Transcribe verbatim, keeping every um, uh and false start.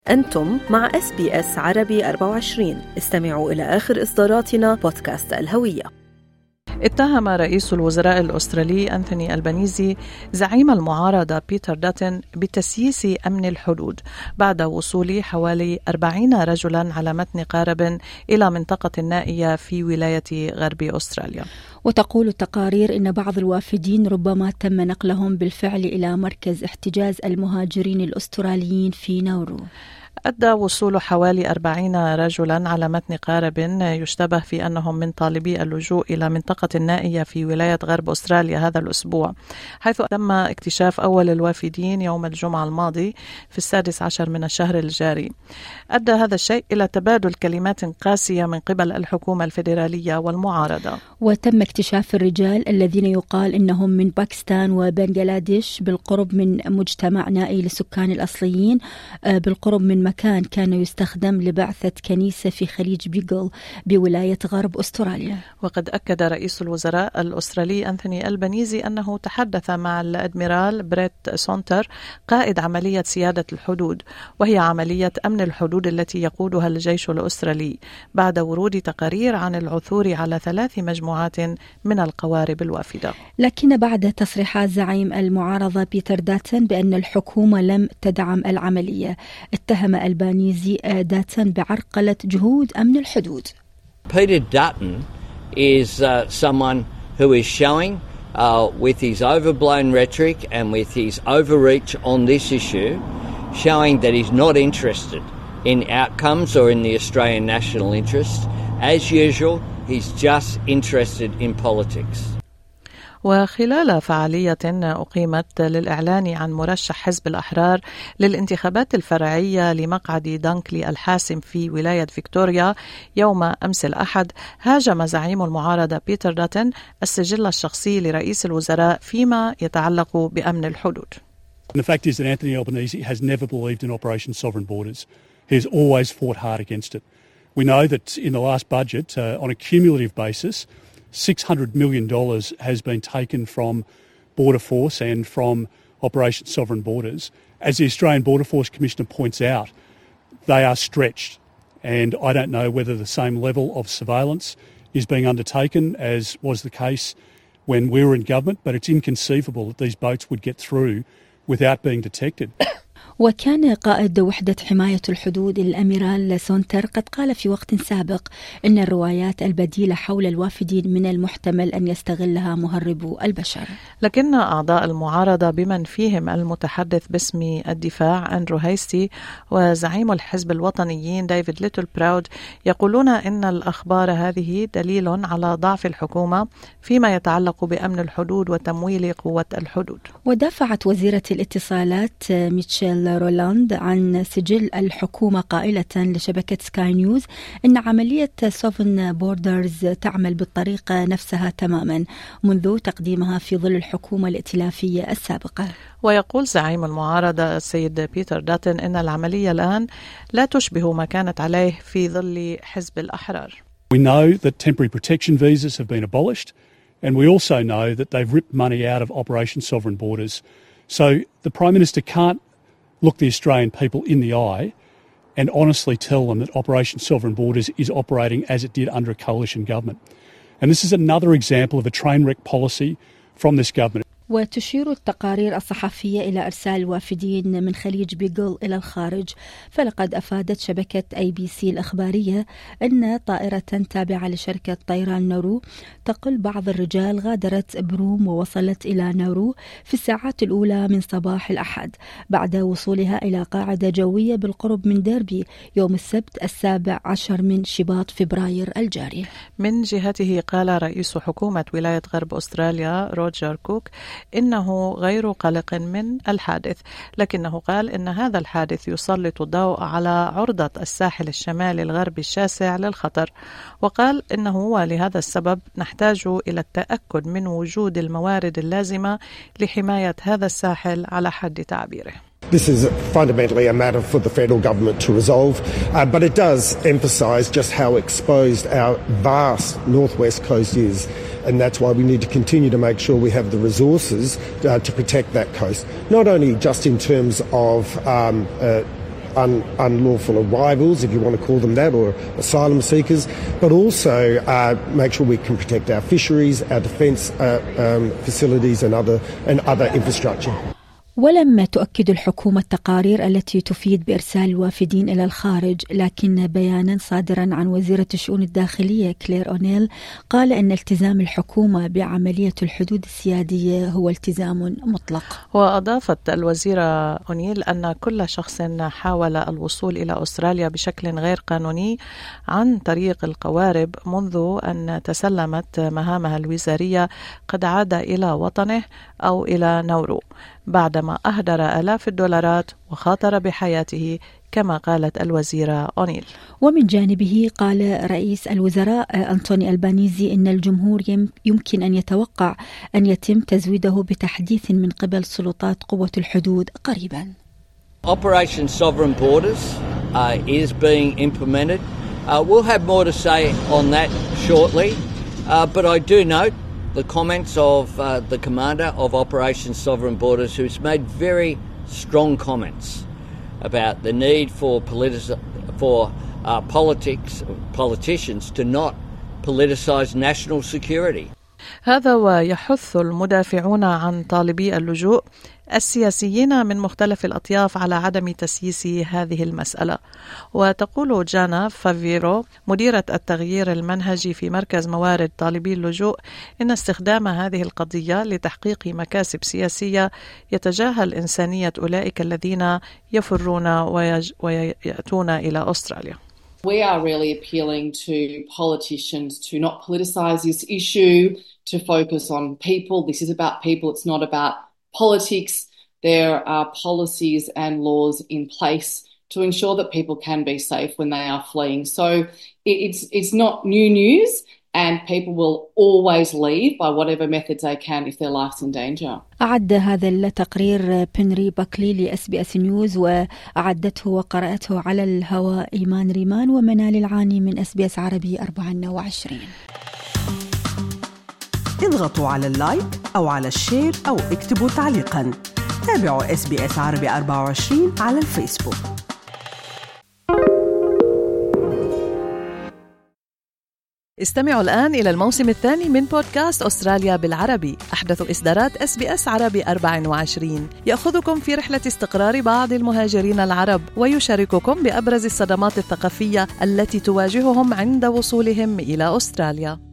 أنتم مع إس بي إس عربي أربعة وعشرين. استمعوا إلى آخر إصداراتنا بودكاست الهوية. اتهم رئيس الوزراء الأسترالي أنتوني ألبانيزي زعيم المعارضة بيتر داتن بتسييس أمن الحدود بعد وصول حوالي أربعين رجلا على متن قارب إلى منطقة النائية في ولاية غرب أستراليا. وتقول التقارير إن بعض الوافدين ربما تم نقلهم بالفعل إلى مركز احتجاز المهاجرين الأستراليين في ناورو. أدى وصول حوالي أربعين رجلا على متن قارب يشتبه في أنهم من طالبي اللجوء إلى منطقة النائية في ولاية غرب أستراليا هذا الأسبوع، حيث تم اكتشاف أول الوافدين يوم الجمعة الماضي في السادس عشر من الشهر الجاري. أدى هذا الشيء إلى تبادل كلمات قاسية من قبل الحكومة الفيدرالية والمعارضة. وتم اكتشاف الرجال الذين يقال إنهم من باكستان وبنغلاديش بالقرب من مجتمع نائي للسكان الأصليين بالقرب من مكان كان يستخدم لبعثة كنيسة في خليج بيغل بولاية غرب أستراليا. وقد أكد رئيس الوزراء الأسترالي أنتوني ألبانيزي أنه تحدث مع الأدميرال بريت سونتر قائد عملية سيادة الحدود، وهي عملية أمن الحدود التي يقودها الجيش الأسترالي بعد ورود تقارير عن العثور على ثلاث مجموعات من القوارب الوافدة. لكن بعد تصريحات زعيم المعارضة بيتر داتن بأن الحكومة لم تدعم العملية، اتهم ألبانيزي داتن بعرقلة جهود أمن الحدود. Peter Dutton is uh, someone who is showing uh, with his overblown rhetoric and with his overreach on this issue, showing that he's not interested in outcomes or in the Australian national interest. As usual, he's just interested in politics. وخلال فعالية أقيمت للإعلان عن مرشح حزب الأحرار للانتخابات الفرعية لمقعد دانكلي الحاسم في ولاية فيكتوريا يوم أمس الأحد، هاجم زعيم المعارضة بيتر داتن السجل الشخصي لرئيس الوزراء فيما يتعلق بأمن الحدود. The fact is that Anthony Albanese has never believed in Operation Sovereign Borders. He has always fought hard against it. We know that in the last budget, uh, on a cumulative basis, six hundred million dollars has been taken from Border Force and from Operation Sovereign Borders. As the Australian Border Force Commissioner points out, they are stretched, and I don't know whether the same level of surveillance is being undertaken as was the case when we were in government, but it's inconceivable that these boats would get through without being detected. وكان قائد وحدة حماية الحدود الأميرال سونتر قد قال في وقت سابق إن الروايات البديلة حول الوافدين من المحتمل أن يستغلها مهربو البشر. لكن أعضاء المعارضة بمن فيهم المتحدث باسم الدفاع أندرو هايستي وزعيم الحزب الوطنيين ديفيد ليتل براود يقولون إن الأخبار هذه دليل على ضعف الحكومة فيما يتعلق بأمن الحدود وتمويل قوة الحدود. ودافعت وزيرة الاتصالات ميتشيل رولاند عن سجل الحكومة قائلة لشبكة سكاي نيوز إن عملية سوفن بوردرز تعمل بالطريقة نفسها تماما منذ تقديمها في ظل الحكومة الائتلافية السابقة. ويقول زعيم المعارضة السيد بيتر داتن إن العملية الآن لا تشبه ما كانت عليه في ظل حزب الأحرار. We know that temporary protection visas have been abolished, and we also know that they've ripped money out of Operation Sovereign Borders. So the Prime Minister can't look the Australian people in the eye and honestly tell them that Operation Sovereign Borders is operating as it did under a coalition government. And this is another example of a train wreck policy from this government. وتشير التقارير الصحفية إلى إرسال الوافدين من خليج بيغل إلى الخارج، فلقد أفادت شبكة أي بي سي الأخبارية أن طائرة تابعة لشركة طيران نورو تقل بعض الرجال غادرت بروم ووصلت إلى نورو في الساعات الأولى من صباح الأحد بعد وصولها إلى قاعدة جوية بالقرب من ديربي يوم السبت السابع عشر من شباط فبراير الجاري. من جهته قال رئيس حكومة ولاية غرب أستراليا روجر كوك إنه غير قلق من الحادث، لكنه قال إن هذا الحادث يسلط الضوء على عرضة الساحل الشمالي الغربي الشاسع للخطر، وقال إنه ولهذا السبب نحتاج إلى التأكد من وجود الموارد اللازمة لحماية هذا الساحل على حد تعبيره. This is fundamentally a matter for the federal government to resolve, uh, but it does emphasise just how exposed our vast northwest coast is, and that's why we need to continue to make sure we have the resources uh, to protect that coast, not only just in terms of um, uh, un, unlawful arrivals, if you want to call them that, or asylum seekers, but also uh, make sure we can protect our fisheries, our defence uh, um, facilities and other, and other infrastructure. ولم تؤكد الحكومة التقارير التي تفيد بإرسال الوافدين إلى الخارج، لكن بيانا صادرا عن وزيرة الشؤون الداخلية كلير أونيل قال أن التزام الحكومة بعملية الحدود السيادية هو التزام مطلق. وأضافت الوزيرة أونيل أن كل شخص حاول الوصول إلى أستراليا بشكل غير قانوني عن طريق القوارب منذ أن تسلمت مهامها الوزارية قد عاد إلى وطنه أو إلى نورو بعدما أهدر آلاف الدولارات وخاطر بحياته كما قالت الوزيرة أونيل. ومن جانبه قال رئيس الوزراء أنتوني ألبانيزي إن الجمهور يمكن أن يتوقع أن يتم تزويده بتحديث من قبل سلطات قوة الحدود قريبا. Operation Sovereign Borders uh, is being implemented. Uh, we'll have more to say on that shortly, uh, but I do note the comments of uh, the commander of Operation Sovereign Borders, who's made very strong comments about the need for politic- for uh, politics politicians to not politicise national security. هذا ويحث المدافعون عن طالبي اللجوء السياسيين من مختلف الأطياف على عدم تسييس هذه المسألة. وتقول جانا فافيرو مديرة التغيير المنهجي في مركز موارد طالبي اللجوء إن استخدام هذه القضية لتحقيق مكاسب سياسية يتجاهل إنسانية أولئك الذين يفرون ويج... ويأتون إلى أستراليا. We are really appealing to politicians to not politicise this issue, to focus on people. This is about people, it's not about politics. There are policies and laws in place to ensure that people can be safe when they are fleeing. So it's it's not new news, and people will always leave by whatever methods they can if their life's in danger. أعد هذا التقرير بنري باكلي لإس بي إس نيوز، وأعدته وقرأته على الهواء إيمان ريمان ومنال العاني من إس بي إس عربي أربعة وعشرين. اضغطوا على اللايك أو على الشير أو اكتبوا تعليقا. تابعوا إس بي إس عربي أربعة وعشرين على الفيسبوك. استمعوا الآن إلى الموسم الثاني من بودكاست أستراليا بالعربي، أحدث إصدارات إس بي إس عربي أربعة وعشرين، يأخذكم في رحلة استقرار بعض المهاجرين العرب ويشارككم بأبرز الصدمات الثقافية التي تواجههم عند وصولهم إلى أستراليا.